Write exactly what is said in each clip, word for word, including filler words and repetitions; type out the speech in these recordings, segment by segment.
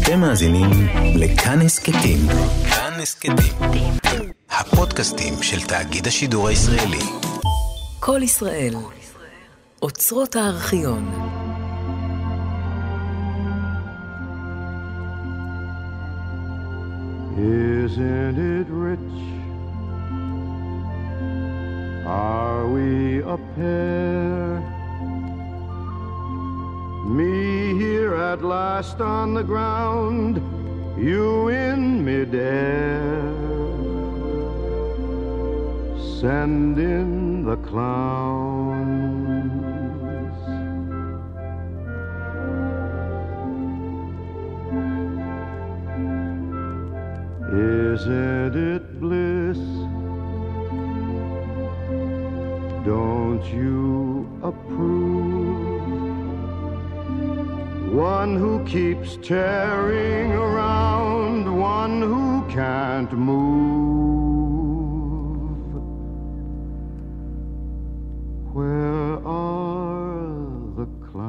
אתם מאזינים לכאן הסכתים. כאן הסכתים. הפודקאסטים של תאגיד השידור הישראלי. כל ישראל. אוצרות הארכיון. Isn't it rich? Are we a pair? Me here at last on the ground, you in midair. Send in the clowns. Isn't it bliss? Don't you approve? One who keeps tearing around, one who can't move. Where are the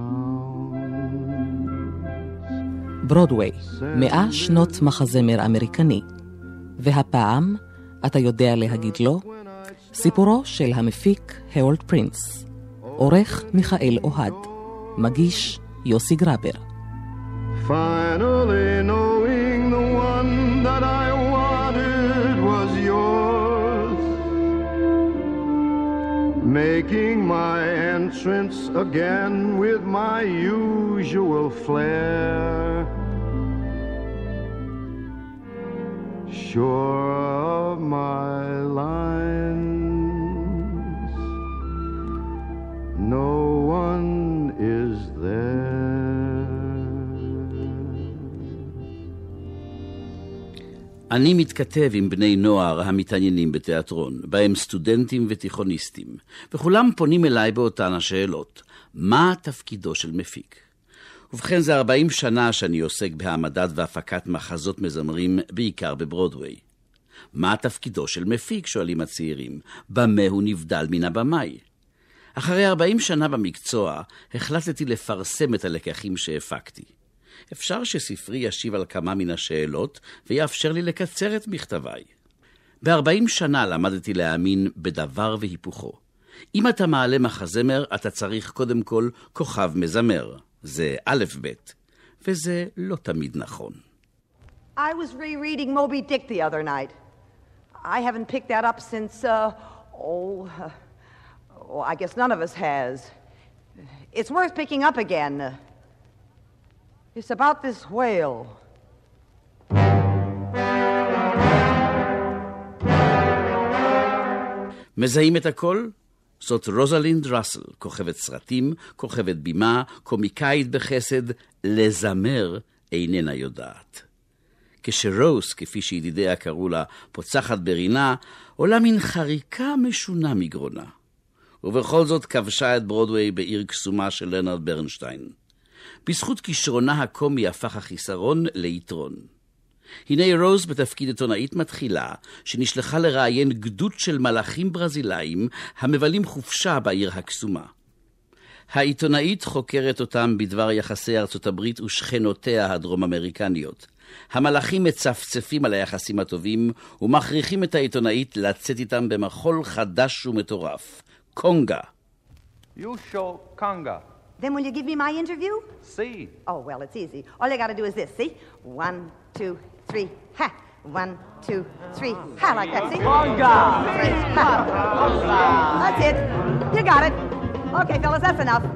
clowns? ברודוויי, מאה שנות מחזמר אמריקני. והפעם, אתה יודע להגיד לו, סיפורו של המפיק הרולד פרינס. עורך מיכאל אוהד. מגיש יוסי גרבר. Finally knowing the one that I wanted was yours, making my entrance again with my usual flair, sure of my lines, no one is there. אני מתכתב עם בני נוער המתעניינים בתיאטרון, בהם סטודנטים ותיכוניסטים, וכולם פונים אליי באותן השאלות. מה תפקידו של מפיק? ובכן, זה ארבעים שנה שאני עוסק בהעמדת והפקת מחזות מזמרים, בעיקר בברודוויי. מה תפקידו של מפיק? שואלים הצעירים. במה הוא נבדל מן הבמאי? אחרי ארבעים שנה במקצוע, החלטתי לפרסם את הלקחים שהפקתי. אפשר שספרי ישיב על כמה מן השאלות, ויאפשר לי לקצר את מכתביי. ב-ארבעים שנה למדתי להאמין בדבר והיפוכו. אם אתה מעלה מחזמר, אתה צריך קודם כל כוכב מזמר. זה א' ב', וזה לא תמיד נכון. I was rereading Moby Dick the other night. I haven't picked that up since, uh, oh, uh, oh, I guess none of us has. It's worth picking up again. It's about this whale. מזהים את הכל? זאת רוזלינד ראסל, כוכבת סרטים, כוכבת בימה, קומיקאית בחסד, לזמר איננה יודעת. כשרוס, כפי שידידיה קראו לה, פוצחת ברינה, עולה מן חריקה משונה מגרונה. ובכל זאת כבשה את ברודוויי בעיר קסומה של לרנרד ברנשטיין. בזכות כישרונה הקומי הפך החיסרון ליתרון. הנה רוז בתפקיד עיתונאית מתחילה, שנשלחה לראיין גדוד של מלאכים ברזילאים המבלים חופשה בעיר הקסומה. העיתונאית חוקרת אותם בדבר יחסי ארצות הברית ושכנותיה הדרום-אמריקניות. המלאכים מצפצפים על היחסים הטובים ומכריחים את העיתונאית לצאת איתם במחול חדש ומטורף. קונגה. You show conga. Then will you give me my interview? See. Oh, well, it's easy. All you got to do is this, see? One, two, three, ha! One, two, three, ha! Like that, see? Conga! Three, ha! That's it. You got it. Okay, fellas, that's enough.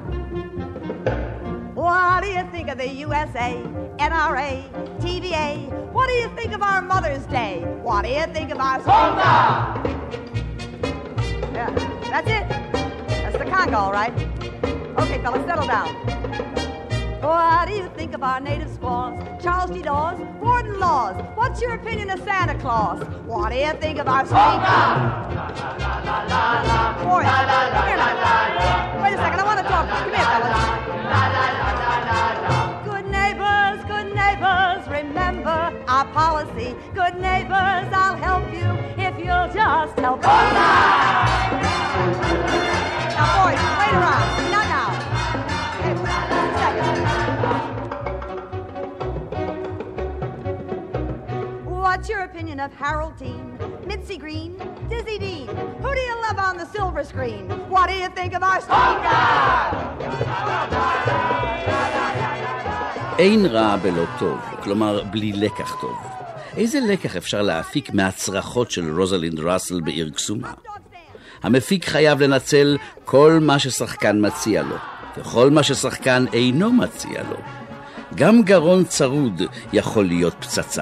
What do you think of the U S A, N R A, T V A? What do you think of our Mother's Day? What do you think of our... Conga! Yeah, that's it. That's the conga, all right. Okay, fellas, settle down. What do you think of our native squaws? Charles D. Dawes, Gordon Laws. What's your opinion of Santa Claus? What do you think of our... Conga! Boy, come here now. Wait a second, I want to talk. Come here, fellas. Good neighbors, good neighbors, remember our policy. Good neighbors, I'll help you if you'll just help me. Now, boys, wait around. Not now. Hey, one second. What's your opinion of Harold Teen, Mitzi Green, Dizzy Dean? Who do you love on the silver screen? What do you think of our Stonka? אין רע בלא טוב, כלומר בלי לקח טוב. איזה לקח אפשר להפיק מהצרחות של רוזלינד ראסל בעיר קסומה? המפיק חייב לנצל כל מה ששחקן מציע לו, וכל מה ששחקן אינו מציע לו. גם גרון צרוד יכול להיות פצצה.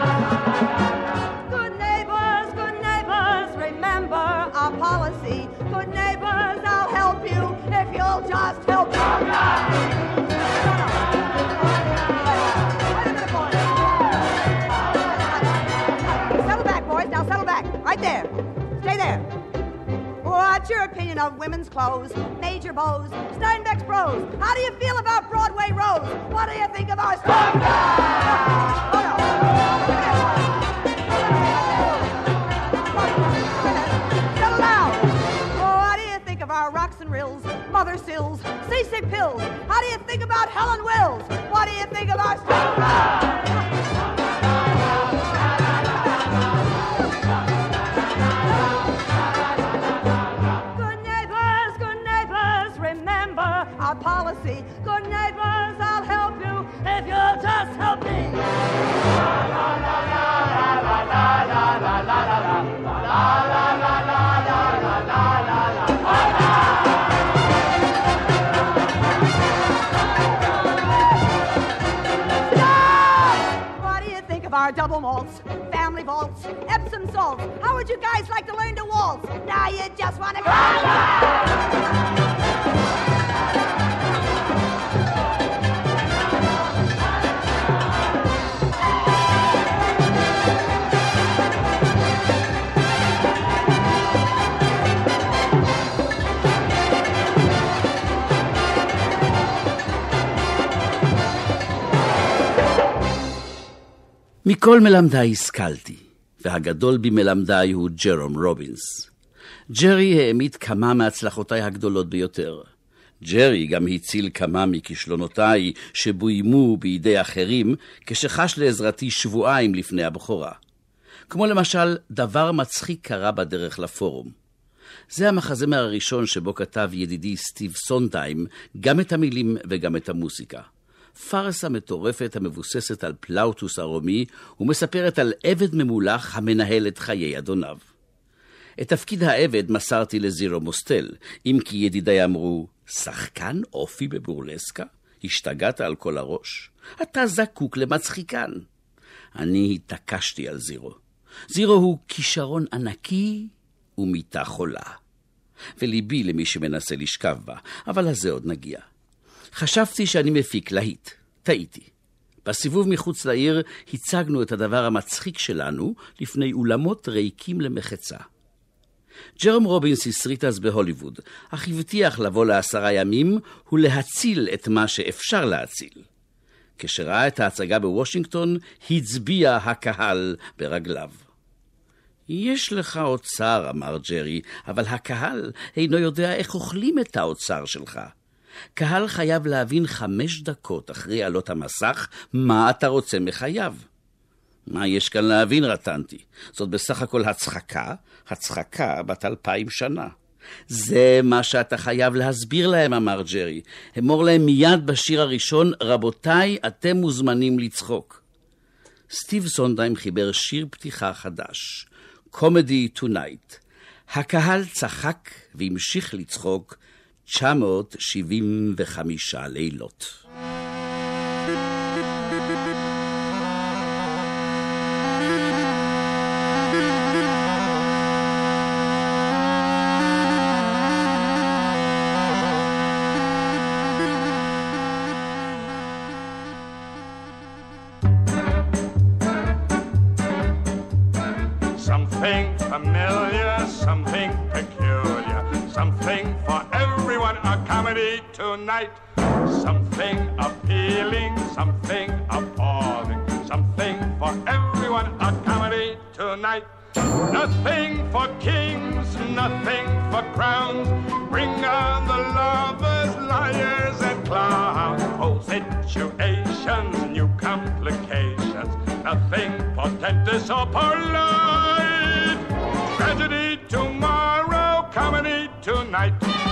Good neighbors, good neighbors, remember our policy. Good neighbors, I'll help you if you'll just help me. Settle back, boys. Now settle back. Right there. Stay there. What's your opinion of women's clothes, major bows, Steinbeck's bros? How do you feel about Broadway Rose? What do you think of our Stonka? Oh, no. Settle down. What do you think of our rocks and rills, mother sills, seasick pills? How do you think about Helen Wills? What do you think of our Stonka? Our policy. Good neighbors, I'll help you if you'll just help me. What do you think of our double malts, family vaults, Epsom salts? How would you guys like to learn to waltz? Now you just want to מכל מלמדי השכלתי, והגדול במלמדי הוא ג'רום רובינס. ג'רי העמיד כמה מהצלחותיי הגדולות ביותר. ג'רי גם הציל כמה מכישלונותיי שבוימו בידי אחרים כשחש לעזרתי שבועיים לפני הבכורה. כמו למשל, דבר מצחיק קרה בדרך לפורום. זה המחזמר הראשון שבו כתב ידידי סטיב סונדהיים גם את המילים וגם את המוסיקה. פרסה מטורפת המבוססת על פלאוטוס הרומי ומספרת על עבד ממולח המנהל את חיי אדוניו. את תפקיד העבד מסרתי לזירו מוסטל, אם כי ידידיי אמרו, שחקן אופי בבורלסקה? השתגעת על כל הראש? אתה זקוק למצחיקן. אני התעקשתי על זירו. זירו הוא כישרון ענקי ומיטה חולה. וליבי למי שמנסה לשכב בה, אבל לזה עוד נגיע. חשבתי שאני מפיק להיט. טעיתי. בסיבוב מחוץ לעיר הצגנו את הדבר המצחיק שלנו לפני אולמות ריקים למחצה. ג'רום רובינס הסריט אז בהוליווד, אך הבטיח לבוא לעשרה ימים ולהציל את מה שאפשר להציל. כשראה את ההצגה בוושינגטון, הצביע הקהל ברגליו. יש לך אוצר, אמר ג'רי, אבל הקהל אינו יודע איך אוכלים את האוצר שלך. קהל חייב להבין חמש דקות אחרי עלות המסך מה אתה רוצה מחייו. מה יש כאן להבין, רטנתי? זאת בסך הכל הצחקה, הצחקה בת אלפיים שנה. זה מה שאתה חייב להסביר להם, אמר ג'רי. אמור להם מיד בשיר הראשון, רבותיי, אתם מוזמנים לצחוק. סטיב סונדהיים חיבר שיר פתיחה חדש, Comedy Tonight. הקהל צחק והמשיך לצחוק תשע מאות שבעים וחמישה לילות. Something familiar, something peculiar, something for everyone, a comedy tonight. Something appealing, something appalling, something for everyone, a comedy tonight. Nothing for kings, nothing for crowns, bring on the lovers, liars and clowns. Old situations, new complications, nothing for or dentist or polite. Tragedy tomorrow, comedy tonight.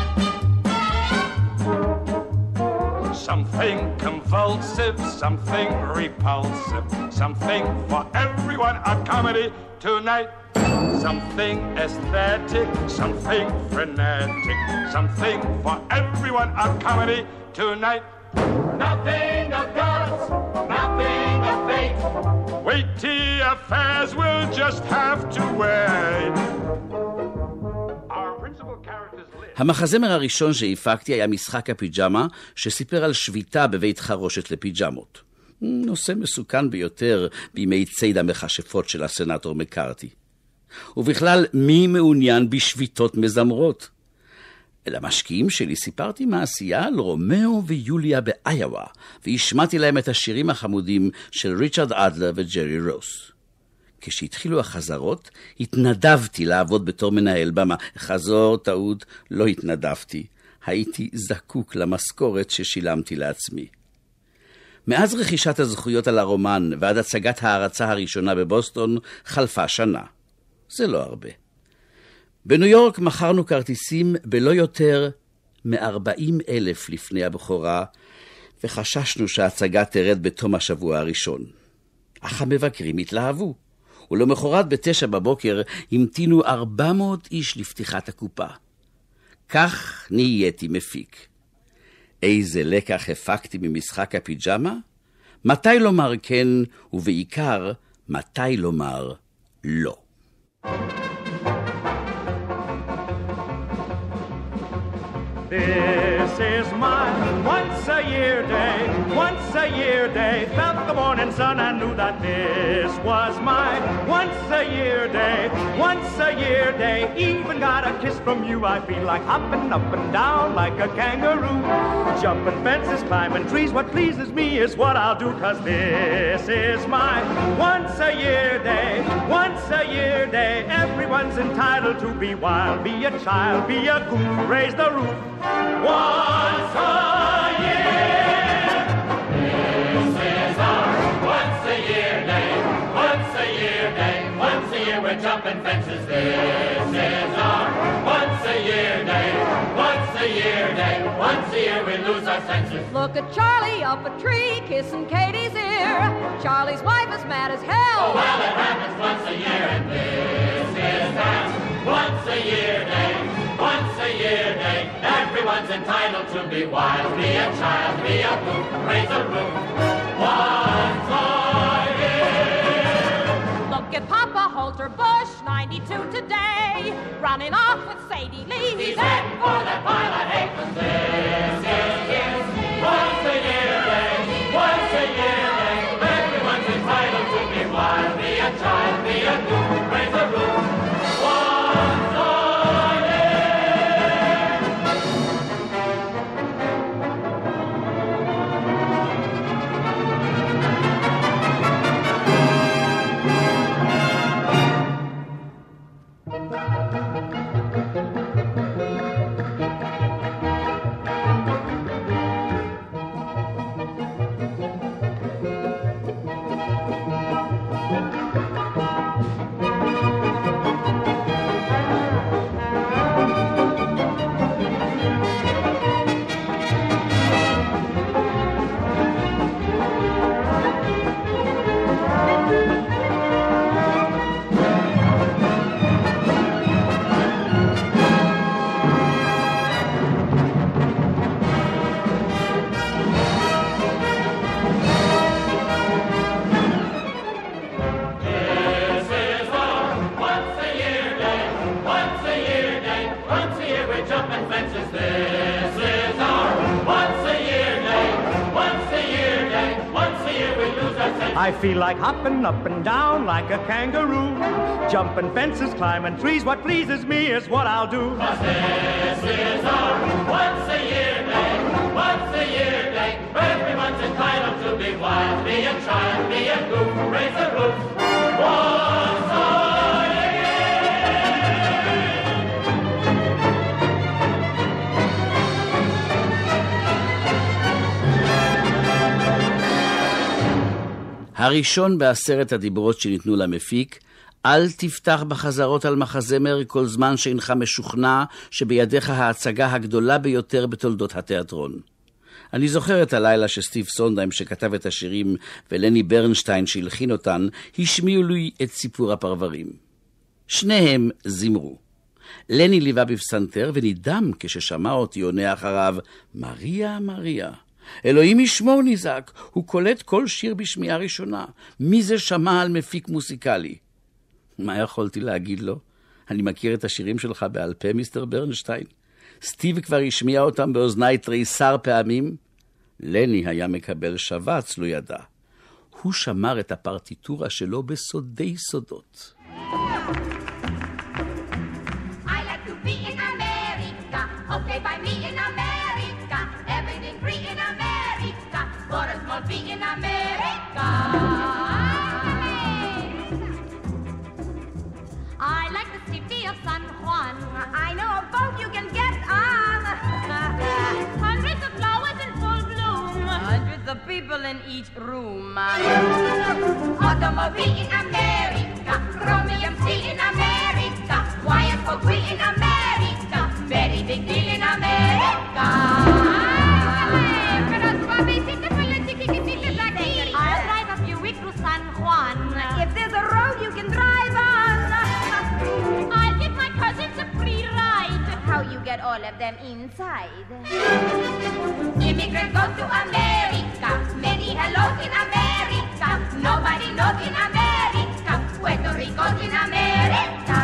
Something convulsive, something repulsive, something for everyone, a comedy tonight. Something aesthetic, something frenetic, something for everyone, a comedy tonight. Nothing of gods, nothing of fate. Weighty affairs will just have to wait. Our principal characters live. המחזמר הראשון שהפקתי היה משחק הפיג'מה, שסיפר על שביתה בבית חרושת לפיג'מות. נושא מסוכן ביותר בימי ציד המכשפות של הסנאטור מקארתי. ובכלל, מי מעוניין בשביתות מזמרות? למשקיעים שלי סיפרתי מעשייה על רומאו ויוליה באיואה, והשמעתי להם את השירים החמודים של ריצ'רד אדלר וג'רי רוס. כשהתחילו החזרות, התנדבתי לעבוד בתור מנהל במה. חזור, טעות, לא התנדבתי. הייתי זקוק למשכורת ששילמתי לעצמי. מאז רכישת הזכויות על הרומן ועד הצגת ההרצה הראשונה בבוסטון, חלפה שנה. זה לא הרבה. בניו יורק מכרנו כרטיסים בלא יותר מ-ארבעים אלף לפני הבכורה, וחששנו שההצגה תרד בתום השבוע הראשון. אך המבקרים התלהבו, ולמחרת בתשע בבוקר המתינו ארבע מאות איש לפתיחת הקופה. כך נהייתי מפיק. איזה לקח הפקתי ממשחק הפיג'מה? מתי לומר כן, ובעיקר, מתי לומר לא. This is my once-a-year day, once-a-year day. Felt the morning sun and knew that this was my once-a-year day, once-a-year day. Even got a kiss from you, I feel like hopping up and down like a kangaroo. Jumping fences, climbing trees, what pleases me is what I'll do. 'Cause this is my once-a-year day, once-a-year day. Everyone's entitled to be wild, be a child, be a goose, raise the roof. Once a year, this is our once a year day, once a year day, once a year we're jumping fences. This is our once a year day, once a year day, once a year we lose our senses. Look at Charlie up a tree kissing Katie's ear. Charlie's wife is mad as hell. Oh well, it happens once a year, and this is that once a year day, once a year day. Everyone's entitled to be wild, be a child, be a goof, raise a roof. Once a year. Look at Papa Holter Bush, ninety-two today, running off with Sadie Lee. He's heading for that pile of hay. This is once a year day, once a year day. Everyone's entitled to be wild, be a child, be a goof, raise a roof. Once a I feel like hopping up and down like a kangaroo. Jumping fences, climbing trees, what pleases me is what I'll do. 'Cause this is our once a year day, once a year day. Everyone's entitled to be wild, be a child, be a goof, raise a roof. Once a הראשון בעשרת הדיברות שניתנו למפיק, אל תפתח בחזרות על מחזמר כל זמן שאינך משוכנע שבידיך ההצגה הגדולה ביותר בתולדות התיאטרון. אני זוכר את הלילה שסטיב סונדהיים שכתב את השירים ולני ברנשטיין שהלחין אותן, השמיעו לי את סיפור הפרברים. שניהם זמרו. לני ליווה בפסנתר ונדהם כששמע אותי עונה אחריו, מריה, מריה. אלוהים ישמור נזעק, הוא קולט כל שיר בשמיעה ראשונה. מי זה שמע על מפיק מוסיקלי? מה יכולתי להגיד לו? אני מכיר את השירים שלך בעל פה, מיסטר ברנשטיין. סטיב כבר השמיע אותם באוזני תריסר פעמים. לני היה מקבל שבץ, לא ידע. הוא שמר את הפרטיטורה שלו בסודי סודות. Okay, by me in America, everything free in America, for a small fee in America. I like the city of San Juan. I know a boat you can get on. Hundreds of flowers in full bloom. Hundreds of people in each room. Automobile in America, chromium steel in America, wire for free in America. Very big deal in America. I'll drive a few weeks to San Juan. If there's a road you can drive on. I'll give my cousins a free ride. How you get all of them inside? Immigrant goes to America. Many hellos in America. Nobody knows in America. Puerto Rico's in America.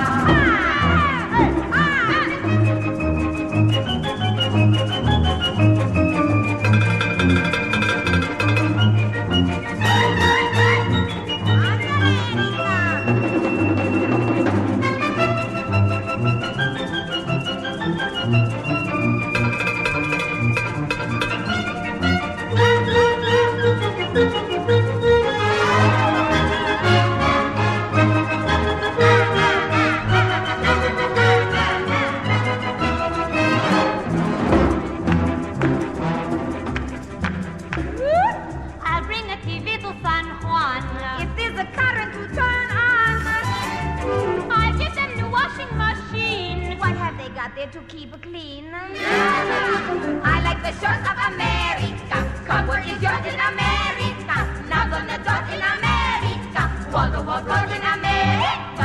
To keep it clean. I like the shores of America. Cowboy is yours in America. Now on the dot in America. Wall to wall road in America.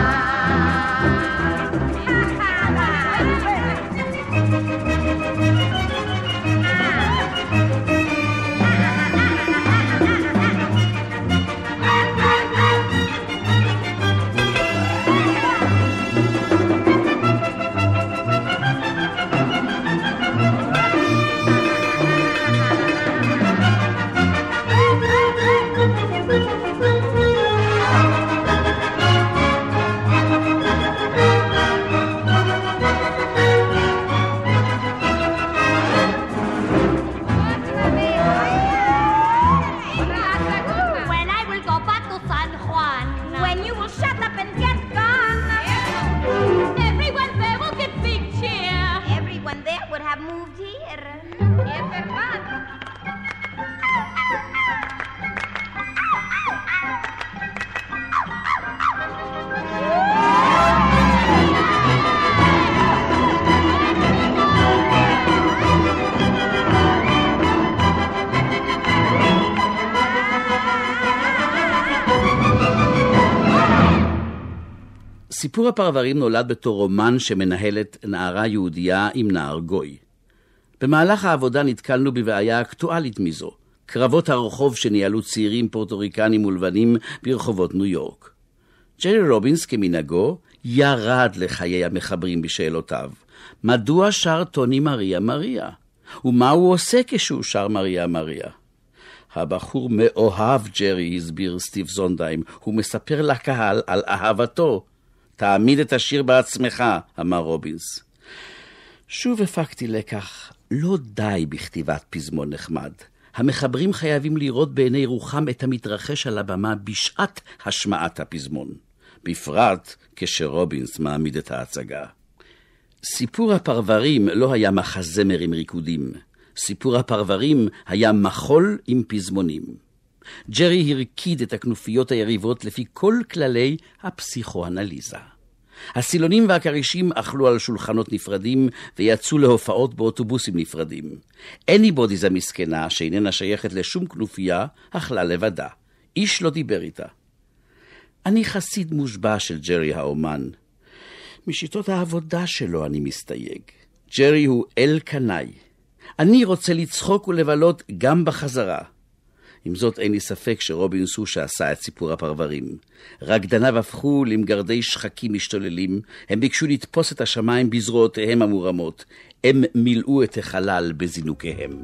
סיפור הפרברים נולד בתור רומן שמנהלת נערה יהודייה עם נער גוי. במהלך העבודה נתקלנו בבעיה אקטואלית מזו, קרבות הרחוב שניהלו צעירים פורטוריקנים ולבנים ברחובות ניו יורק. ג'רי רובינס כמנהגו ירד לחיי המחברים בשאלותיו. מדוע שר טוני מריה מריה? ומה הוא עושה כשהוא שר מריה מריה? הבחור מאוהב ג'רי, הסביר סטיב סונדהיים, הוא מספר לקהל על אהבתו. תעמיד את השיר בעצמך, אמר רובינס. שוב הפקתי לקח, לא די בכתיבת פזמון נחמד. המחברים חייבים לראות בעיני רוחם את המתרחש על הבמה בשעת השמעת הפזמון, בפרט כשרובינס מעמיד את ההצגה. סיפור הפרברים לא היה מחזמר עם ריקודים. סיפור הפרברים היה מחול עם פזמונים. ג'רי הרקיד את הכנופיות היריבות לפי כל כללי הפסיכואנליזה. הסילונים והקרישים אכלו על שולחנות נפרדים ויצאו להופעות באוטובוסים נפרדים. אניבודיז המסכנה, שאיננה שייכת לשום כנופיה, אכלה לבדה. איש לא דיבר איתה. אני חסיד מושבע של ג'רי האומן. משיטות העבודה שלו אני מסתייג. ג'רי הוא אל קנאי. אני רוצה לצחוק ולבלות גם בחזרה. עם זאת אין לי ספק שרובין סושה עשה את סיפור הפרברים. רקדניו הפכו למגרדי שחקים משתוללים, הם ביקשו לתפוס את השמיים בזרועותיהם המורמות, הם מילאו את החלל בזינוקיהם.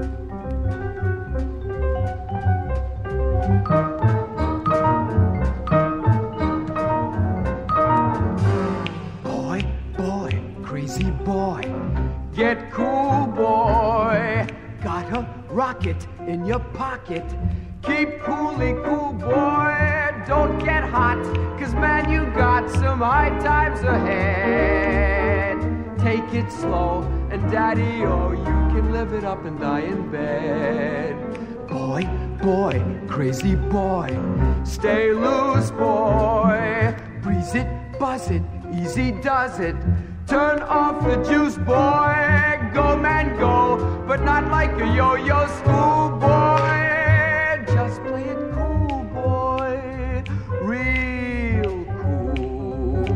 Boy, boy, crazy boy, get cool boy, got a rocket in your pocket. Keep coolly cool, boy. Don't get hot, cause man, you got some high times ahead. Take it slow, and daddy, oh, you can live it up and die in bed. Boy, boy, crazy boy, stay loose, boy. Breeze it, buzz it, easy does it. Turn off the juice, boy. Go, man, go, but not like a yo-yo schoolboy. Just play it cool, boy. Real cool.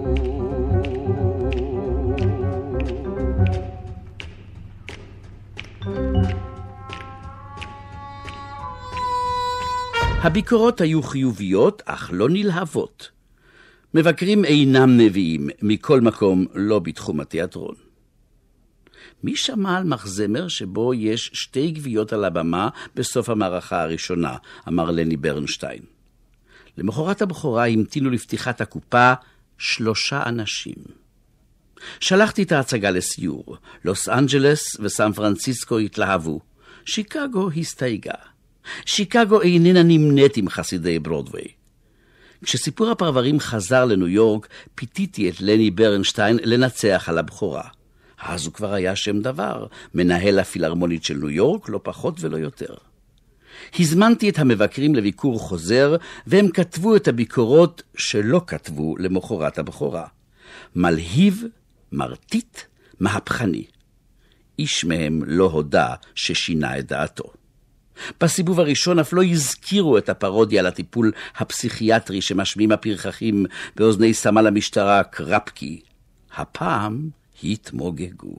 הביקורות היו חיוביות, אך לא נלהבות. מבקרים אינם נביאים, מכל מקום לא בתחום התיאטרון. מי שמע על מחזמר שבו יש שתי גוויות על הבמה בסוף המערכה הראשונה, אמר לני ברנשטיין. למחרת הבכורה המתינו לפתיחת הקופה שלושה אנשים. שלחתי את ההצגה לסיור. לוס אנג'לס וסן פרנסיסקו התלהבו. שיקגו הסתייגה. שיקגו איננה נמנית עם חסידי ברודווי. כשסיפור הפרברים חזר לניו יורק, פיתיתי את לני ברנשטיין לנצח על הבכורה. אז הוא כבר היה שם דבר, מנהל הפילהרמונית של ניו יורק, לא פחות ולא יותר. הזמנתי את המבקרים לביקור חוזר, והם כתבו את הביקורות שלא כתבו למחרת הבכורה. מלהיב, מרטיט, מהפכני. איש מהם לא הודע ששינה את דעתו. בסיבוב הראשון אף לא הזכירו את הפרודיה לטיפול הפסיכיאטרי שמשמיעים הפרחחים באוזני סמל המשטרה קרפקי. הפעם התמוגגו.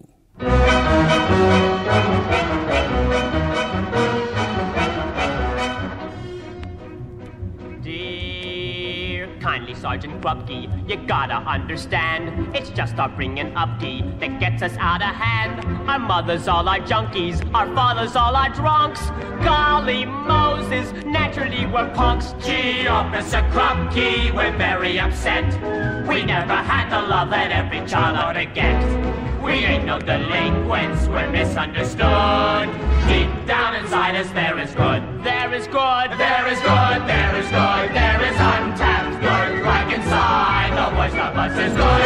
Kindly Sergeant Krupke, you gotta understand, it's just our bringing up key that gets us out of hand. Our mothers all are junkies, our fathers all are drunks. Golly Moses, naturally we're punks. Gee, Officer Krupke, we're very upset. We never had the love that every child ought to get. We ain't no delinquents, we're misunderstood. Deep down inside us there is good. There is good, there is good, there is good, there is untapped good. Like inside, the voice of us is good.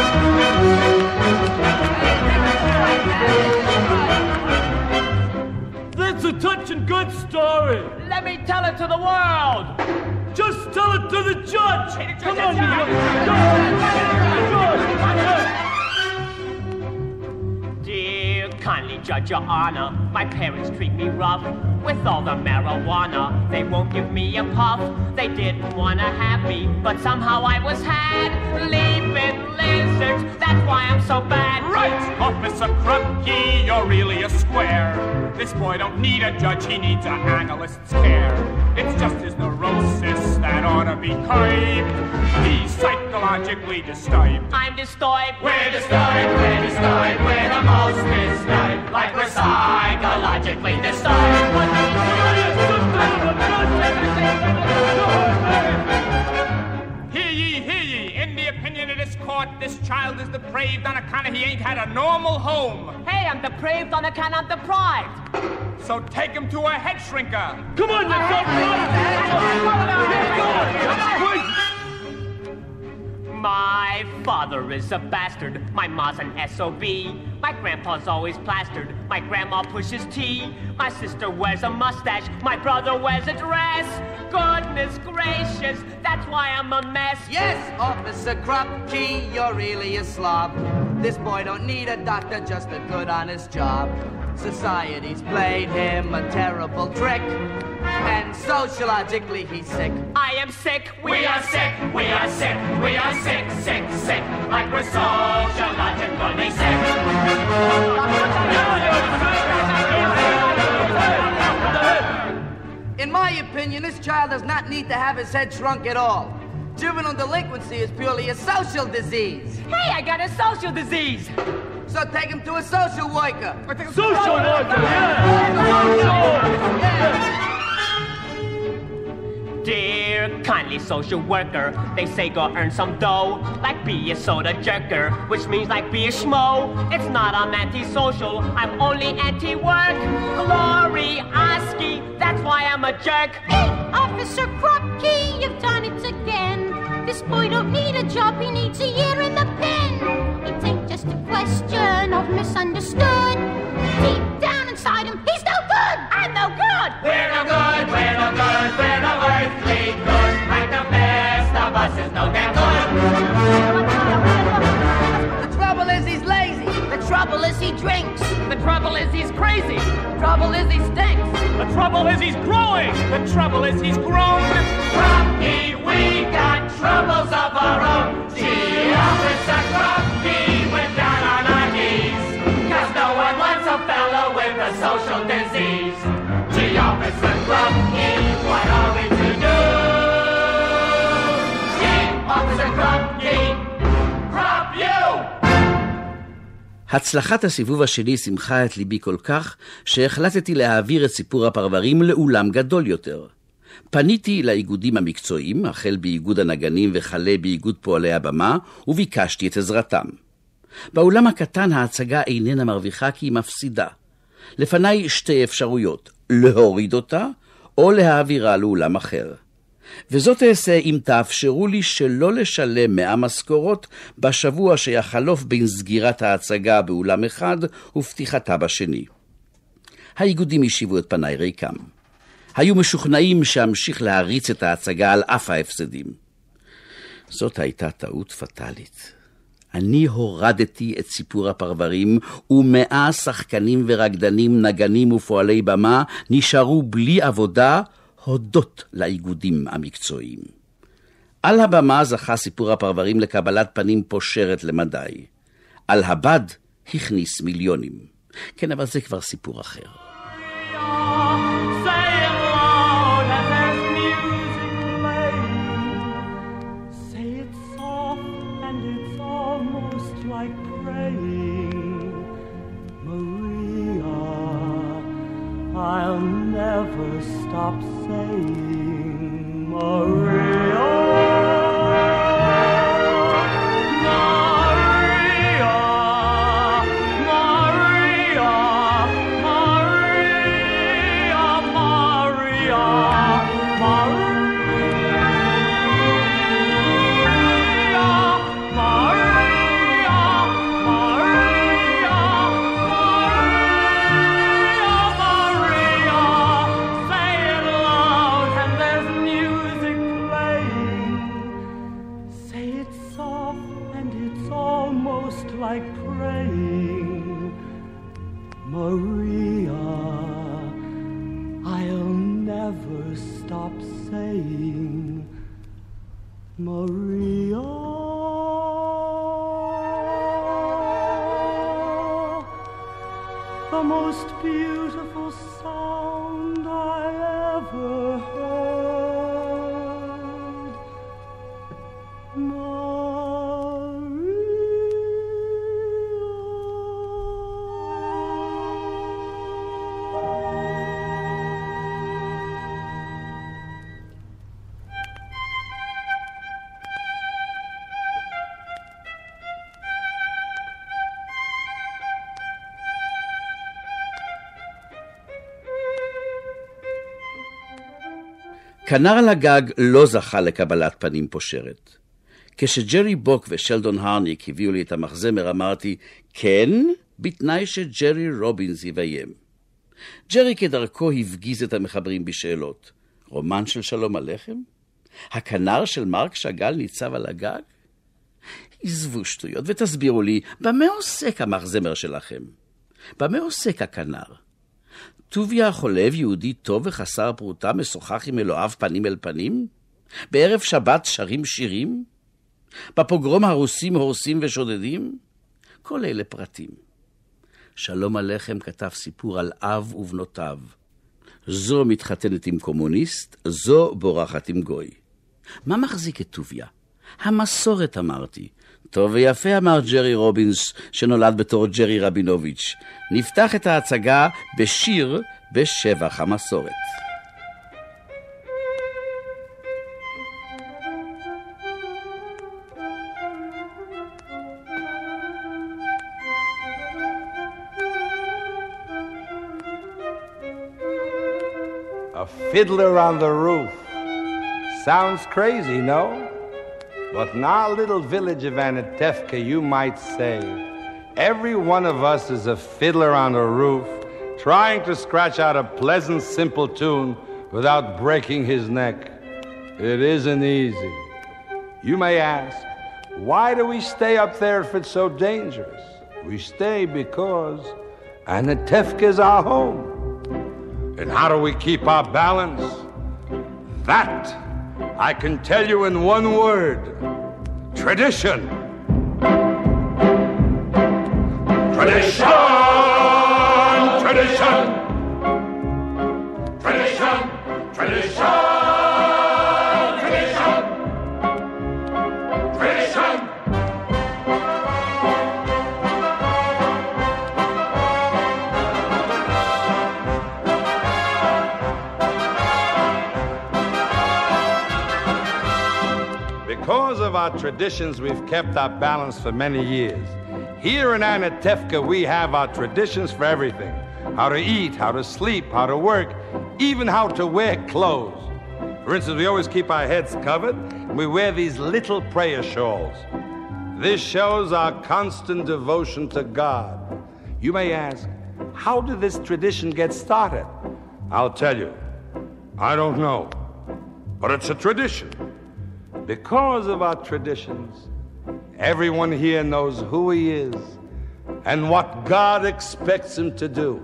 That's a touching good story. Let me tell it to the world. Just tell it to the judge. Come on, you Dear kindly judge, your honor, my parents treat me rough. With all the marijuana, they won't give me a puff. They didn't want to have me, but somehow I was had. Leaping lizards, that's why I'm so bad. Right, Officer Krupke, you're really a square. This boy don't need a judge, he needs an analyst's care. It's just his neurosis that ought to be curbed. He's psychologically disturbed. I'm disturbed. We're disturbed, we're disturbed, we're the most disturbed. Like we're psychologically disturbed. Hear ye, hear ye, in the opinion of this court, this child is depraved on account of he ain't had a normal home. Hey, I'm depraved on account I'm deprived. So take him to a head shrinker. Come on, let's go. My father father is a bastard. My ma's an S O B. My grandpa's always plastered. My grandma pushes tea. My sister wears a mustache. My brother wears a dress. Goodness gracious, that's why I'm a mess. Yes, Officer Krupke, you're really a slob. This boy don't need a doctor, just a good honest job. Society's played him a terrible trick, and sociologically he's sick. I am sick. We, we are sick. We are sick. We are sick, sick, sick. Like we're sociologically sick. In my opinion, this child does not need to have his head shrunk at all. Juvenile delinquency is purely a social disease. Hey, I got a social disease. So take him to a social worker. Social worker, yeah. Dear kindly social worker, they say go earn some dough, like be a soda jerker, which means like be a schmo. It's not I'm anti-social, I'm only anti-work. Glory Oski, that's why I'm a jerk. Hey, Officer Krupke, you've done it again. This boy don't need a job, he needs a year in the pen. It ain't just a question of misunderstood. Deep down inside him, he's no good. I'm no good. We're no good, we're no good, we're no earthly good. Like the best of us is no damn good. The trouble is he's lazy. The trouble is he drinks. The trouble is he's crazy. The trouble is he stinks. The trouble is he's growing. The trouble is he's grown. Krupke, we got troubles of our own. Gee, Officer Krupke, we're down on our knees. Cause no one wants a fellow with a social disease. Gee, Officer Krupke, what are we to do? Gee, Officer Krupke, Krupp you! הצלחת הסיבוב השני שמחה את ליבי כל כך, שהחלטתי להעביר את סיפור הפרברים לאולם גדול יותר. פניתי לאיגודים המקצועיים, החל באיגוד הנגנים וכלה באיגוד פועלי הבמה, וביקשתי את עזרתם. באולם הקטן ההצגה איננה מרוויחה כי היא מפסידה. לפניי שתי אפשרויות, להוריד אותה או להעבירה לאולם אחר. וזאת אעשה אם תאפשרו לי שלא לשלם מאה משכורות בשבוע שיחלוף בין סגירת ההצגה באולם אחד ופתיחתה בשני. האיגודים השיבו את פניי ריקם. היו משוכנעים שאמשיך להריץ את ההצגה על אף ההפסדים. זאת הייתה טעות פטלית. אני הורדתי את סיפור הפרברים, ומאה שחקנים ורקדנים, נגנים ופועלי במה נשארו בלי עבודה, הודות לאיגודים המקצועיים. על הבמה זכה סיפור הפרברים לקבלת פנים פושרת למדי. על הבד הכניס מיליונים. כן, אבל זה כבר סיפור אחר. I'll never stop saying Maria, Maria, Maria, Maria, Maria, Maria. Like praying, Maria, I'll never stop saying, Maria. The most beautiful sound I ever heard. Maria. כנר על הגג לא זכה לקבלת פנים פושרת. כשג'רי בוק ושלדון הרניק הביאו לי את המחזמר, אמרתי, כן, בתנאי שג'רי רובינס יביים. ג'רי כדרכו הפגיז את המחברים בשאלות. רומן של שלום הלחם? הכנר של מרק שגל ניצב על הגג? עזבו שטויות ותסבירו לי, במה עוסק המחזמר שלכם? במה עוסק הכנר? טוביה החולב יהודי טוב וחסר פרוטה משוחח עם אלוהיו פנים אל פנים? בערב שבת שרים שירים? בפוגרום הרוסים הורסים ושודדים? כל אלה פרטים. שלום הלחם כתב סיפור על אב ובנותיו. זו מתחתנת עם קומוניסט, זו בורחת עם גוי. מה מחזיק את טוביה? המסורת אמרתי. טוב ויפה אמר ג'רי רובינס שנולד בתור ג'רי רבינוביץ'. נפתח את ההצגה בשיר בשבח המסורת. A fiddler on the roof. Sounds crazy, no? But in our little village of Anatevka, you might say, every one of us is a fiddler on a roof, trying to scratch out a pleasant, simple tune without breaking his neck. It isn't easy. You may ask, why do we stay up there if it's so dangerous? We stay because Anatevka is our home. And how do we keep our balance? That I can tell you in one word. Tradition. Tradition! Tradition! Tradition! Tradition! Tradition! Tradition! Because of our traditions, we've kept our balance for many years. Here in Anatevka, we have our traditions for everything. How to eat, how to sleep, how to work, even how to wear clothes. For instance, we always keep our heads covered, and we wear these little prayer shawls. This shows our constant devotion to God. You may ask, how did this tradition get started? I'll tell you. I don't know. But it's a tradition. Because of our traditions, everyone here knows who he is and what God expects him to do.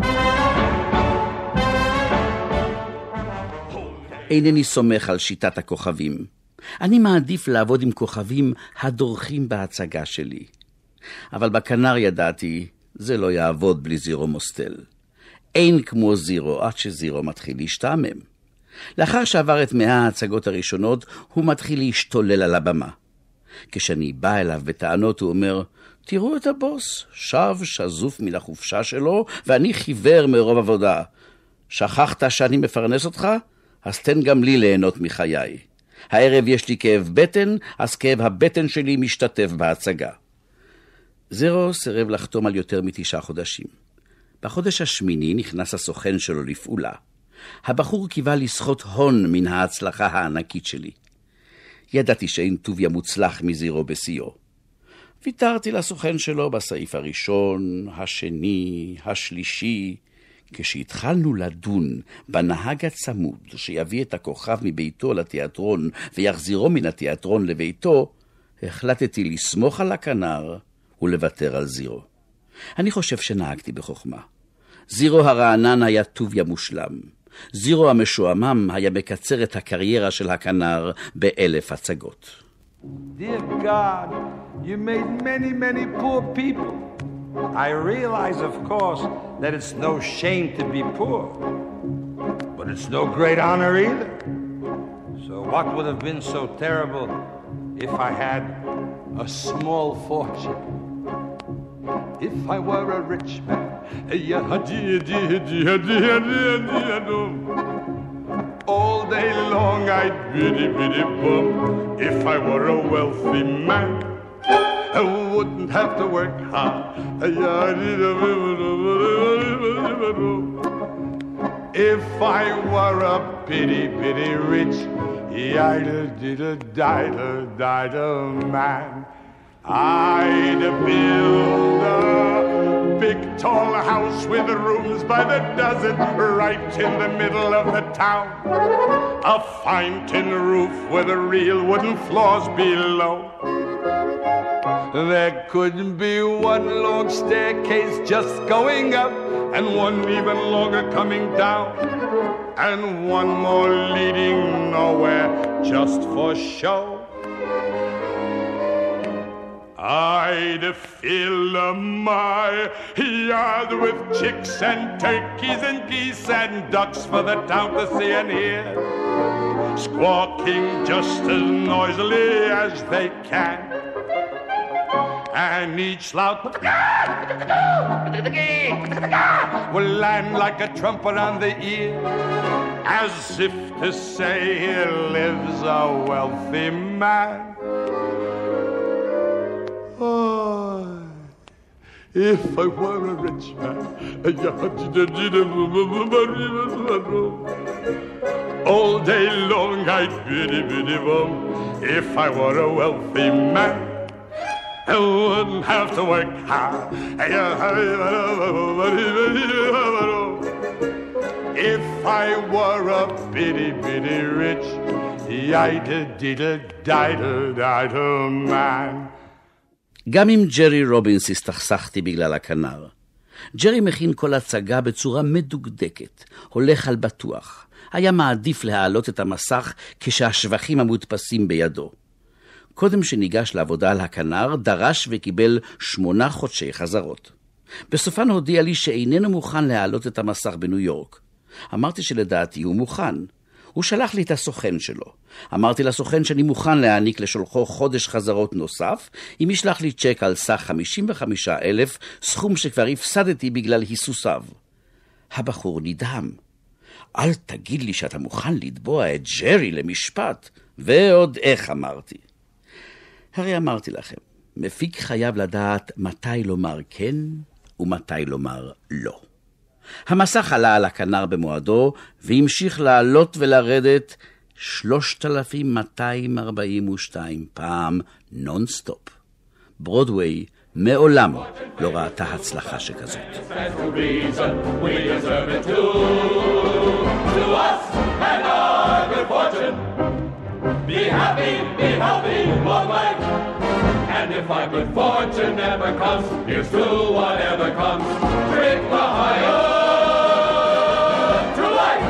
אינני סומך על שיטת הכוכבים. אני מעדיף לעבוד עם כוכבים הדורכים בהצגה שלי. אבל בכנר ידעתי, זה לא יעבוד בלי זירו מוסטל. אין כמו זירו עד שזירו מתחיל להשתעמם. לאחר שעבר את מאה ההצגות הראשונות, הוא מתחיל להשתולל על הבמה. כשאני בא אליו בטענות, הוא אומר, תראו את הבוס, שב שזוף מן החופשה שלו, ואני חיוור מרוב עבודה. שכחת שאני מפרנס אותך? אז תן גם לי ליהנות מחיי. הערב יש לי כאב בטן, אז כאב הבטן שלי משתתף בהצגה. זירו סירב לחתום על יותר מתשעה חודשים. בחודש השמיני נכנס הסוכן שלו לפעולה. הבחור קיווה לסחוט הון מן ההצלחה הענקית שלי. ידעתי שאין טוביה מוצלח מזירו בסיו. ויתרתי לסוכן שלו בסעיף הראשון, השני, השלישי. כשהתחלנו לדון בנהג הצמוד שיביא את הכוכב מביתו לתיאטרון ויחזירו מן התיאטרון לביתו, החלטתי לסמוך על הכנר ולוותר על זירו. אני חושב שנהגתי בחוכמה. זירו הרענן היה טוביה מושלם. זירו המשועמם היה מקצר את הקריירה של הכנר באלף הצגות. Dear God, you made many, many poor people. I realize, of course, that it's no shame to be poor. But it's no great honor either. So what would have been so terrible if I had a small fortune? If I were a rich man, all day long I'd biddy biddy bum. If I were a wealthy man, I wouldn't have to work hard. If I were a bitty, bitty rich, yiddle-diddle-diddle-diddle man, I'd build a big tall house with rooms by the dozen right in the middle of the town. A fine tin roof with real wooden floors below. There could be one long staircase just going up and one even longer coming down, and one more leading nowhere just for show. I'd fill my yard with chicks and turkeys and geese and ducks for the town to see and hear, squawking just as noisily as they can. And each loud will land like a trumpet on the ear, as if to say here lives a wealthy man. Oh, if I were a rich man, all day long I'd biddy biddy bum. If I were a wealthy man, I wouldn't have to work hard. If I were a bitty bitty rich, yiddle-diddle-diddle-diddle man. גם עם ג'רי רובינס הסתכסכתי בגלל הכנר. ג'רי מכין כל הצגה בצורה מדוקדקת, הולך על בטוח. היה מעדיף להעלות את המסך כשהשבחים המודפסים בידו. קודם שניגש לעבודה על הכנר, דרש וקיבל שמונה חודשי חזרות. בסופן הודיע לי שאיננו מוכן להעלות את המסך בניו יורק. אמרתי שלדעתי הוא מוכן. הוא שלח לי את הסוכן שלו. אמרתי לסוכן שאני מוכן להעניק לשולחו חודש חזרות נוסף, אם ישלח לי צ'ק על סך חמישים וחמישה אלף, סכום שכבר הפסדתי בגלל היסוסיו. הבחור נדהם. אל תגיד לי שאתה מוכן לתבוע את ג'רי למשפט, ועוד איך אמרתי. הרי אמרתי לכם, מפיק חייב לדעת מתי לומר כן ומתי לומר לא. המסך עלה על הכנר במועדו והמשיך לעלות ולרדת שלושת אלפים מאתיים ארבעים ושתיים פעם נונסטופ. ברודווי מעולם לא ראתה הצלחה שכזאת. Be happy, be healthy, long life. And if our good fortune never comes, here's to whatever comes. Drink the higher to life.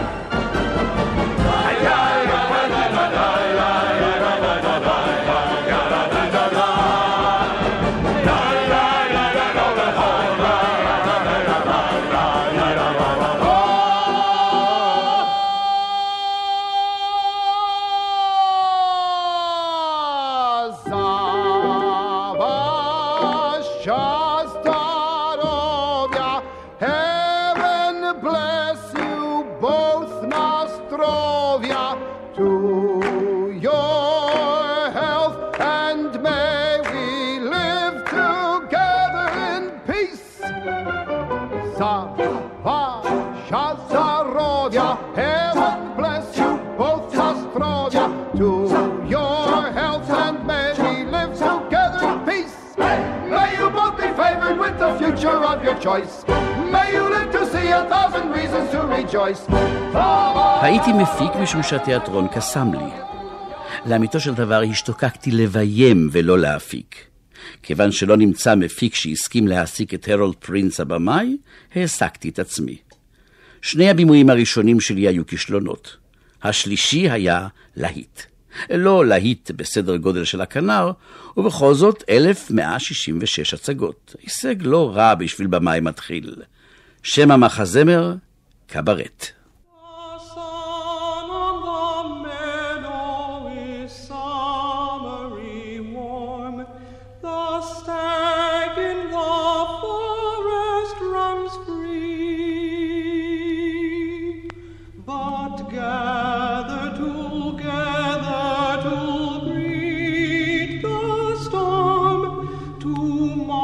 הייתי מפיק משום שהתיאטרון קסם לי. לאמיתו של דבר השתוקקתי לביים ולא להפיק. כיוון שלא נמצא מפיק שהסכים להעסיק את הרולד פרינס הבמאי, העסקתי את עצמי. שני הבימויים הראשונים שלי היו כישלונות. השלישי היה להיט. לא להיט בסדר גודל של הכנר, ובכל זאת אלף מאה שישים ושש הצגות. הישג לא רע בשביל במאי מתחיל. שם המחזמר, קברט.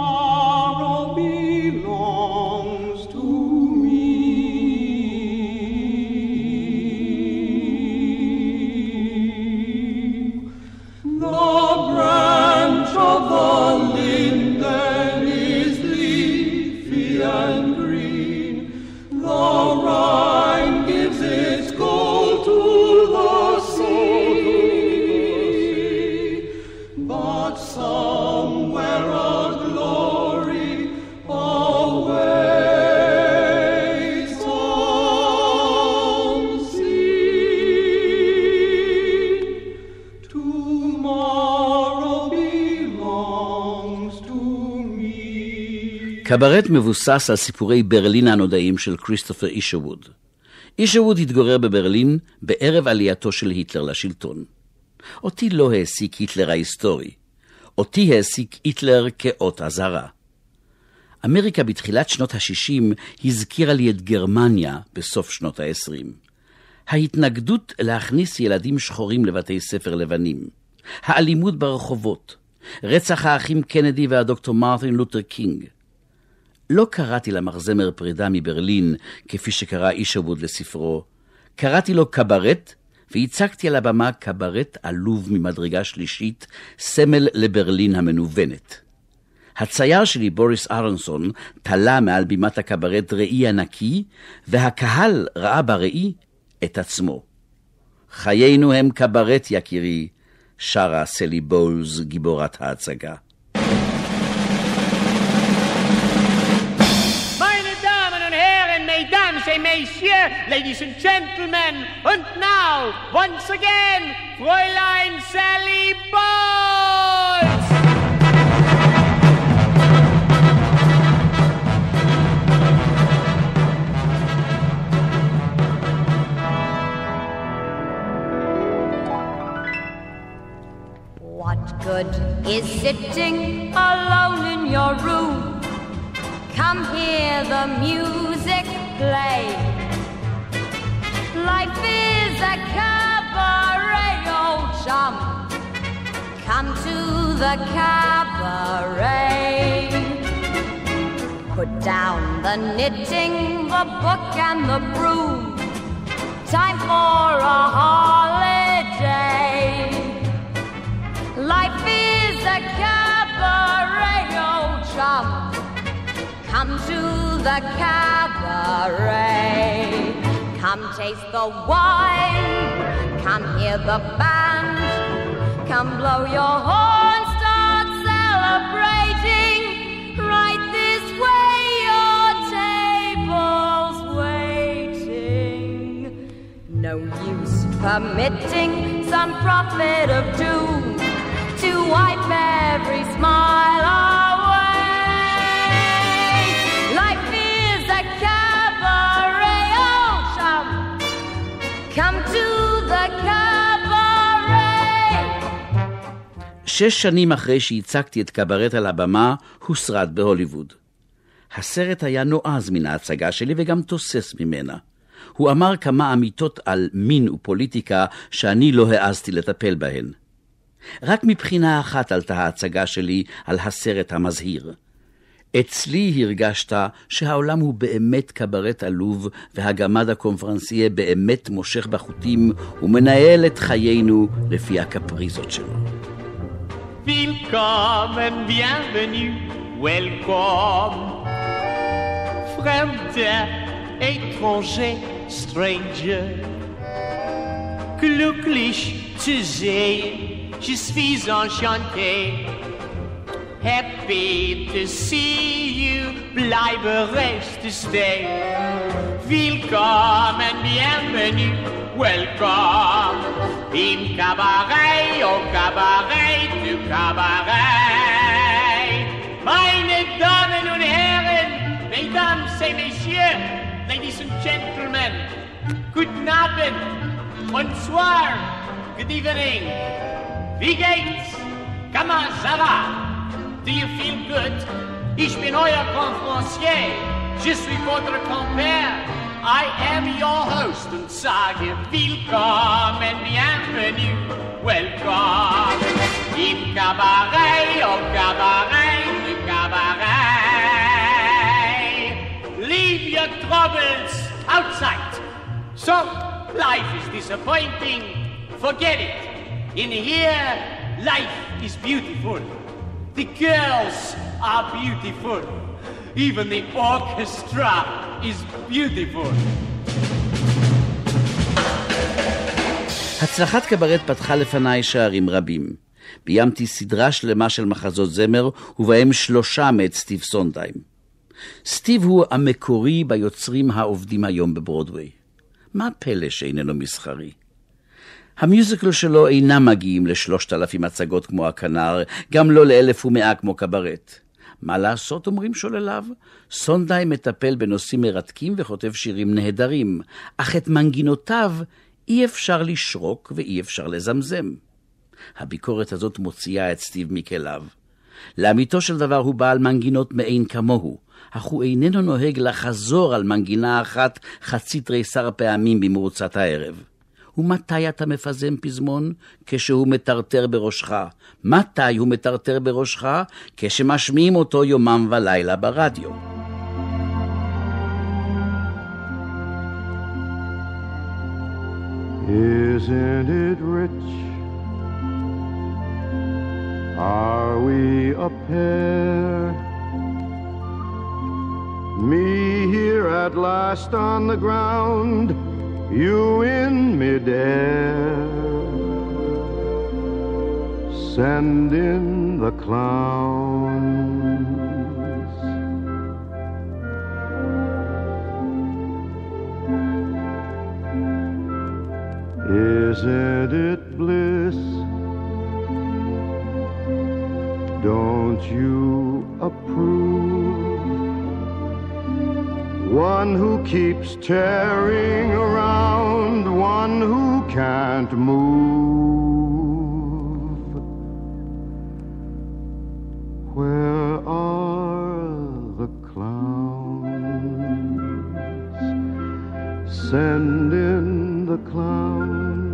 Tomorrow belongs to me. קברט מבוסס על סיפורי ברלין הנודעים של כריסטופר אישרווד. אישרווד התגורר בברלין בערב עלייתו של היטלר לשלטון. אותי לא העסיק היטלר ההיסטורי. אותי העסיק היטלר כאות אזהרה. אמריקה בתחילת שנות ה-שישים הזכירה לי את גרמניה בסוף שנות ה-עשרים. ההתנגדות להכניס ילדים שחורים לבתי ספר לבנים. האלימות ברחובות. רצח האחים קנדי והדוקטור מרטין לותר קינג. לא קראתי למחזמר פרידה מברלין, כפי שקרא אישרווד לספרו. קראתי לו קברט, והצגתי על הבמה קברט עלוב ממדרגה שלישית, סמל לברלין המנוונת. הצייר שלי, בוריס אהרונסון, תלה מעל בימת הקברט ראי ענקי, והקהל ראה בראי את עצמו. חיינו הם קברט יקירי, שרה סלי בולס, גיבורת ההצגה. Messieurs, ladies and gentlemen, and now, once again, Fräulein Sally Bowles! What good is sitting alone in your room? Come hear the music play. Life is a cabaret, old chum. Come to the cabaret. Put down the knitting, the book and the broom. Time for a holiday. Life is a cabaret, old chum. Come to the cabaret. Come taste the wine. Come hear the band. Come blow your horn. Start celebrating. Right this way, your table's waiting. No use permitting some prophet of doom to wipe every smile away. Life is a cabaret, oh chum. Come to the cabaret. שש שנים אחרי שהצגתי את קברט על הבמה, הוסרט בהוליווד. הסרט היה נועז מן ההצגה שלי וגם תוסס ממנה. הוא אמר כמה אמיתות על מין ופוליטיקה שאני לא העזתי לטפל בהן. רק מבחינה אחת עלתה ההצגה שלי על הסרט המזהיר. אצלי הרגשת שהעולם הוא באמת קברט עלוב, והגמד הקונפרנסייה באמת מושך בחוטים ומנהל את חיינו לפי הקפריזות שלו. Willkommen, bienvenue, welcome. Fremder, étranger, stranger. Glücklich zu sehen, je suis enchanté. Happy to see you, bleibe rest to stay. Willkommen, bienvenue, welcome. Im Cabaret, au Cabaret, du Cabaret. Meine Damen und Herren, Mesdames et Messieurs, ladies and gentlemen, guten Abend, bonsoir, good evening. Wie geht's? Comment ça va? Do you feel good? Ich bin euer Conférencier. Je suis votre compère. I am your host und sage willkommen, bienvenue, welcome. Im Cabaret, au Cabaret, du Cabaret. Leave your troubles outside. So, life is disappointing. Forget it. In here, life is beautiful. The girls are beautiful. Even the orchestra is beautiful. הצלחת קברט פתחה לפניי שערים רבים. ביימתי סדרה שלמה של מחזות זמר, ובהם שלושה מאת סטיב סונדהיים. סטיב הוא המקורי ביוצרים העובדים היום בברודווי. מה פלא שאיננו מסחרי? המיוזיקל שלו אינם מגיעים לשלושת אלפים הצגות כמו הכנר, גם לא לאלף ומאה כמו קברט. מה לעשות, אומרים שולליו? סונדהיים מטפל בנושאים מרתקים וכותב שירים נהדרים, אך את מנגינותיו אי אפשר לשרוק ואי אפשר לזמזם. הביקורת הזאת מוציאה את סטיב מכליו. לאמיתו של דבר הוא בעל מנגינות מאין כמוהו, אך הוא איננו נוהג לחזור על מנגינה אחת חצי תריסר פעמים במרוצת הערב. ומתי אתה מפזם פזמון? כשהוא מטרטר בראשך. מתי הוא מטרטר בראשך? כשמשמיעים אותו יומם ולילה ברדיו. Isn't it rich? Are we a pair? Me here at last on the ground, you in midair. Send in the clowns. Isn't it bliss? Don't you approve? One who keeps tearing around, one who can't move. Where are the clowns? Send in the clowns.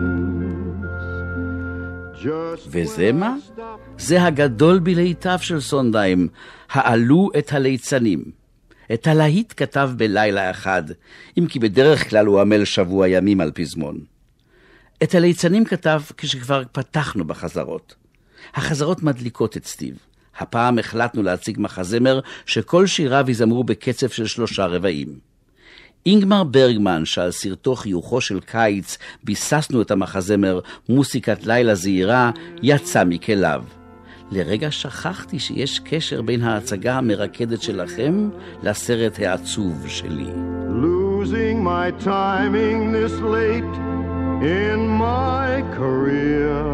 וזה מה? זה הגדול בלהיטיו של סונדהיים, העלו את הליצנים. את הלהיט כתב בלילה אחד, אם כי בדרך כלל הוא עמל שבוע ימים על פזמון. את הליצנים כתב כשכבר פתחנו בחזרות. החזרות מדליקות את סטיב. הפעם החלטנו להציג מחזמר שכל שיריו יזמרו בקצב של שלושה רבעים. אינגמר ברגמן, שעל סרטו חיוכו של קיץ ביססנו את המחזמר מוסיקת לילה זהירה, יצא מכליו. לרגע שכחתי שיש קשר בין ההצגה המרקדת שלכם לסרט העצוב שלי. Losing my timing this late in my career.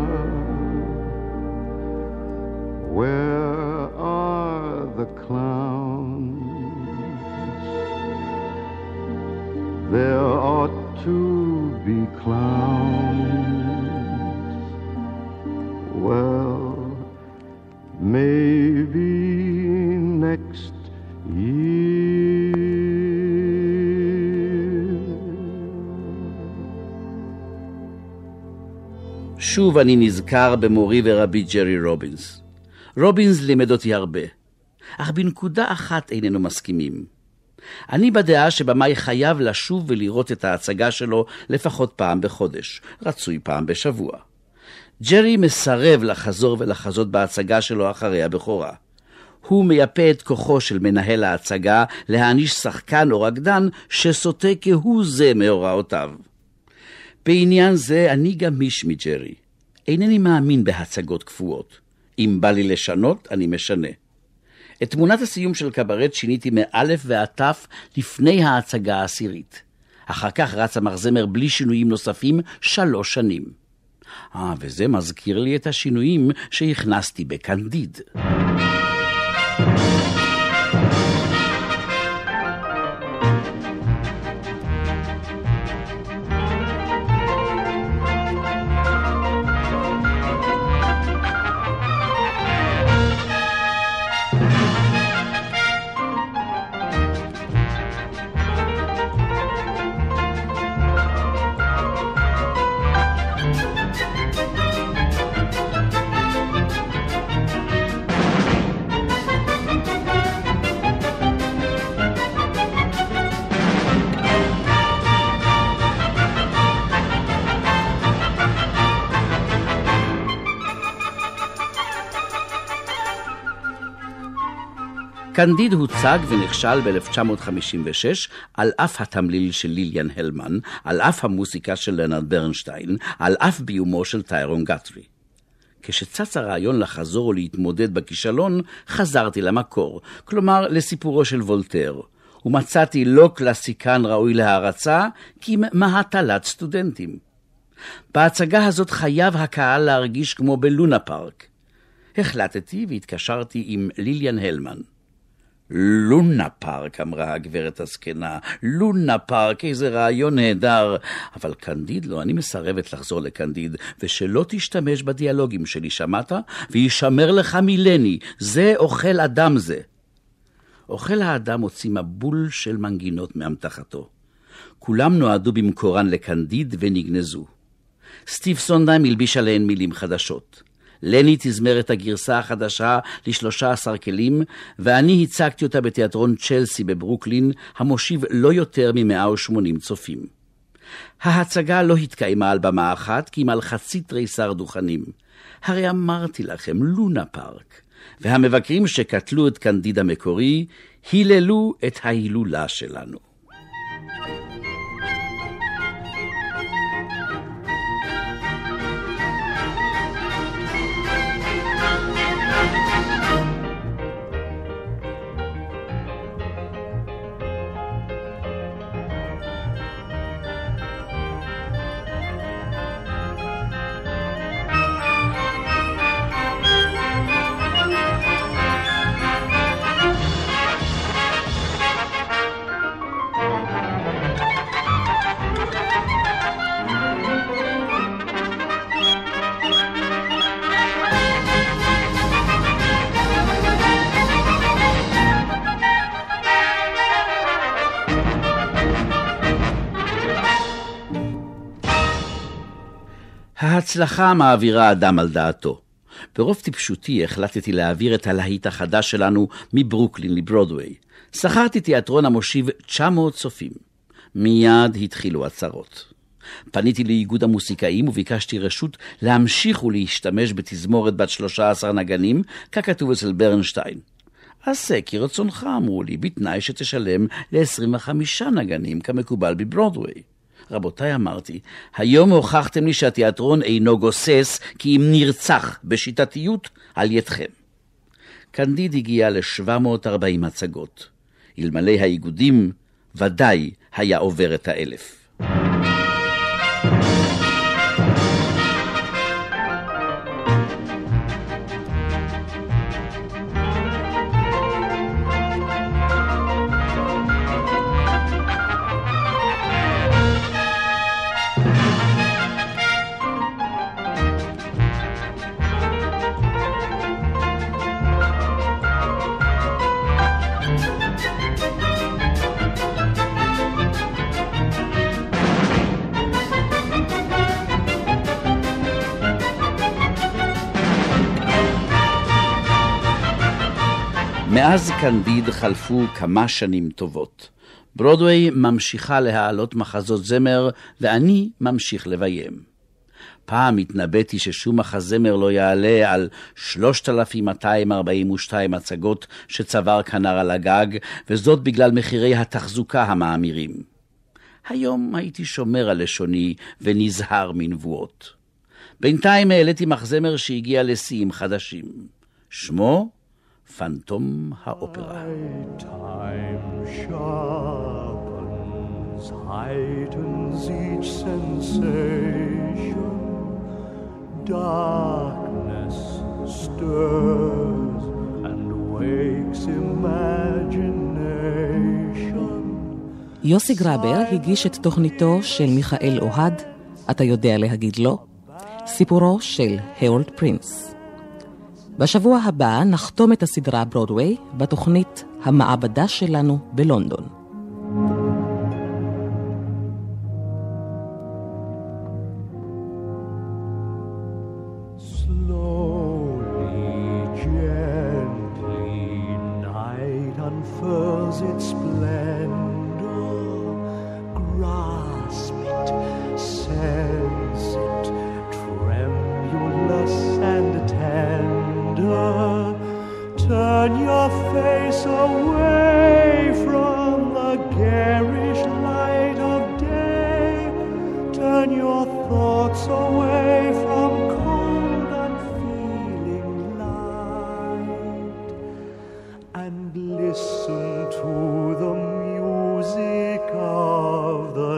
Where are the clowns? There ought to be clowns. Well, maybe next year. שוב אני נזכר במורי ורבי ג'רי רובינס. רובינס לימד אותי הרבה, אך בנקודה אחת איננו מסכימים. אני בדעה שבמאי חייב לשוב ולראות את ההצגה שלו לפחות פעם בחודש, רצוי פעם בשבוע. ג'רי מסרב לחזור ולחזות בהצגה שלו אחרי הבכורה. הוא מייפה את כוחו של מנהל ההצגה להעניש שחקן או רקדן שסוטה כהוא זה מהוראותיו. בעניין זה אני גמיש מג'רי. אינני מאמין בהצגות קפואות. אם בא לי לשנות, אני משנה. את תמונת הסיום של קברט שיניתי מאלף ועד תף לפני ההצגה העשירית. אחר כך רץ המחזמר בלי שינויים נוספים שלוש שנים. אה, וזה מזכיר לי את השינויים שהכנסתי בקנדיד. קנדיד הוצג ונכשל ב-אלף תשע מאות חמישים ושש על אף התמליל של ליליאן הלמן, על אף המוסיקה של לנרד ברנשטיין, על אף ביומו של טיירון גת'רי. כשצץ הרעיון לחזור ולהתמודד בכישלון, חזרתי למקור, כלומר לסיפורו של וולטר, ומצאתי לא קלאסיקן ראוי להערצה, כי מהטלת סטודנטים. בהצגה הזאת חייב הקהל להרגיש כמו בלונה פארק. החלטתי והתקשרתי עם ליליאן הלמן. לונה פארק, אמרה הגברת הזקנה, לונה פארק, איזה רעיון נהדר. אבל קנדיד לא, אני מסרבת לחזור לקנדיד, ושלא תשתמש בדיאלוגים שלי, שמעת? וישמר לך מילני, זה אוכל אדם זה. אוכל האדם הוציא מבול של מנגינות מאמתחתו. כולם נועדו במקורן לקנדיד ונגנזו. סטיב סונדהיים הלביש עליהן מילים חדשות. לני תזמר את הגרסה החדשה לשלושה עשר כלים, ואני הצגתי אותה בתיאטרון צ'לסי בברוקלין, המושיב לא יותר מ-מאה ושמונים צופים. ההצגה לא התקיימה על במה אחת, כי אם על חצי תריסר דוכנים. הרי אמרתי לכם, לונה פארק. והמבקרים שקטלו את קנדיד המקורי, היללו את ההילולה שלנו. ההצלחה מעבירה אדם על דעתו. ברוב טיפשותי החלטתי להעביר את הלהיט החדש שלנו מברוקלין לברודווי. שכרתי תיאטרון המושיב תשע מאות צופים. מיד התחילו הצרות. פניתי לאיגוד המוסיקאים וביקשתי רשות להמשיך ולהשתמש בתזמורת בת שלושה עשר נגנים, ככתוב אצל ברנשטיין. עשה כרצונך, אמרו לי, בתנאי שתשלם ל-עשרים וחמישה נגנים כמקובל בברודווי. רבותיי, אמרתי, היום הוכחתם לי שהתיאטרון אינו גוסס, כי אם נרצח בשיטתיות על ידכם. קנדיד הגיע ל-שבע מאות וארבעים הצגות. אלמלא האיגודים, ודאי היה עובר את האלף. מאז קנדיד חלפו כמה שנים טובות. ברודווי ממשיכה להעלות מחזות זמר, ואני ממשיך לביים. פעם התנבאתי ששום מחזמר לא יעלה על שלושת אלפים מאתיים ארבעים ושתיים הצגות שצבר כנר על הגג, וזאת בגלל מחירי התחזוקה המאמירים. היום הייתי שומר על לשוני ונזהר מנבואות. בינתיים העליתי מחזמר שהגיע לשיאים חדשים. שמו פנטום האופרה. Time sharpens, heightens each sensation. Darkness stirs and wakes imagination. יוסי גרבר הגיש את תוכניתו של מיכאל אוהד, אתה יודע להגיד לו, סיפורו של האולד פרינס. בשבוע הבא נחתום את הסדרה ברודווי בתוכנית המעבדה שלנו בלונדון. Slowly, gently, night unfurls its splendor. Grasp it, sense it, tremulous and tender. Turn your face away from the garish light of day. Turn your thoughts away from cold unfeeling light, and listen to the music of the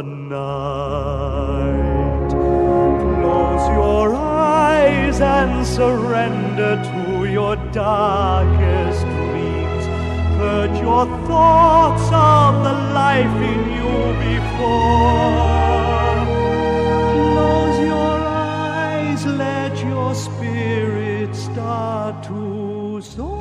night. Close your eyes and surrender to your darkest dreams. Put your thoughts of the life in you before. Close your eyes, let your spirit start to soar.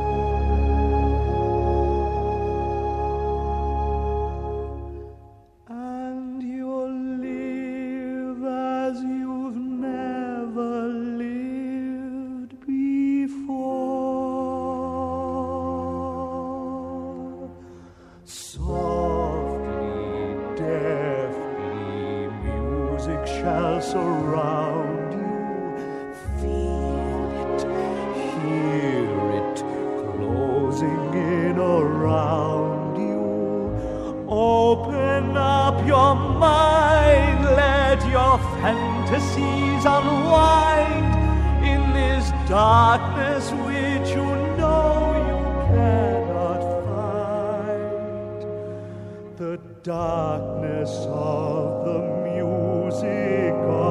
Surround you, feel it, hear it, closing in around you. Open up your mind, let your fantasies unwind in this darkness which you know you cannot fight. The darkness of the music of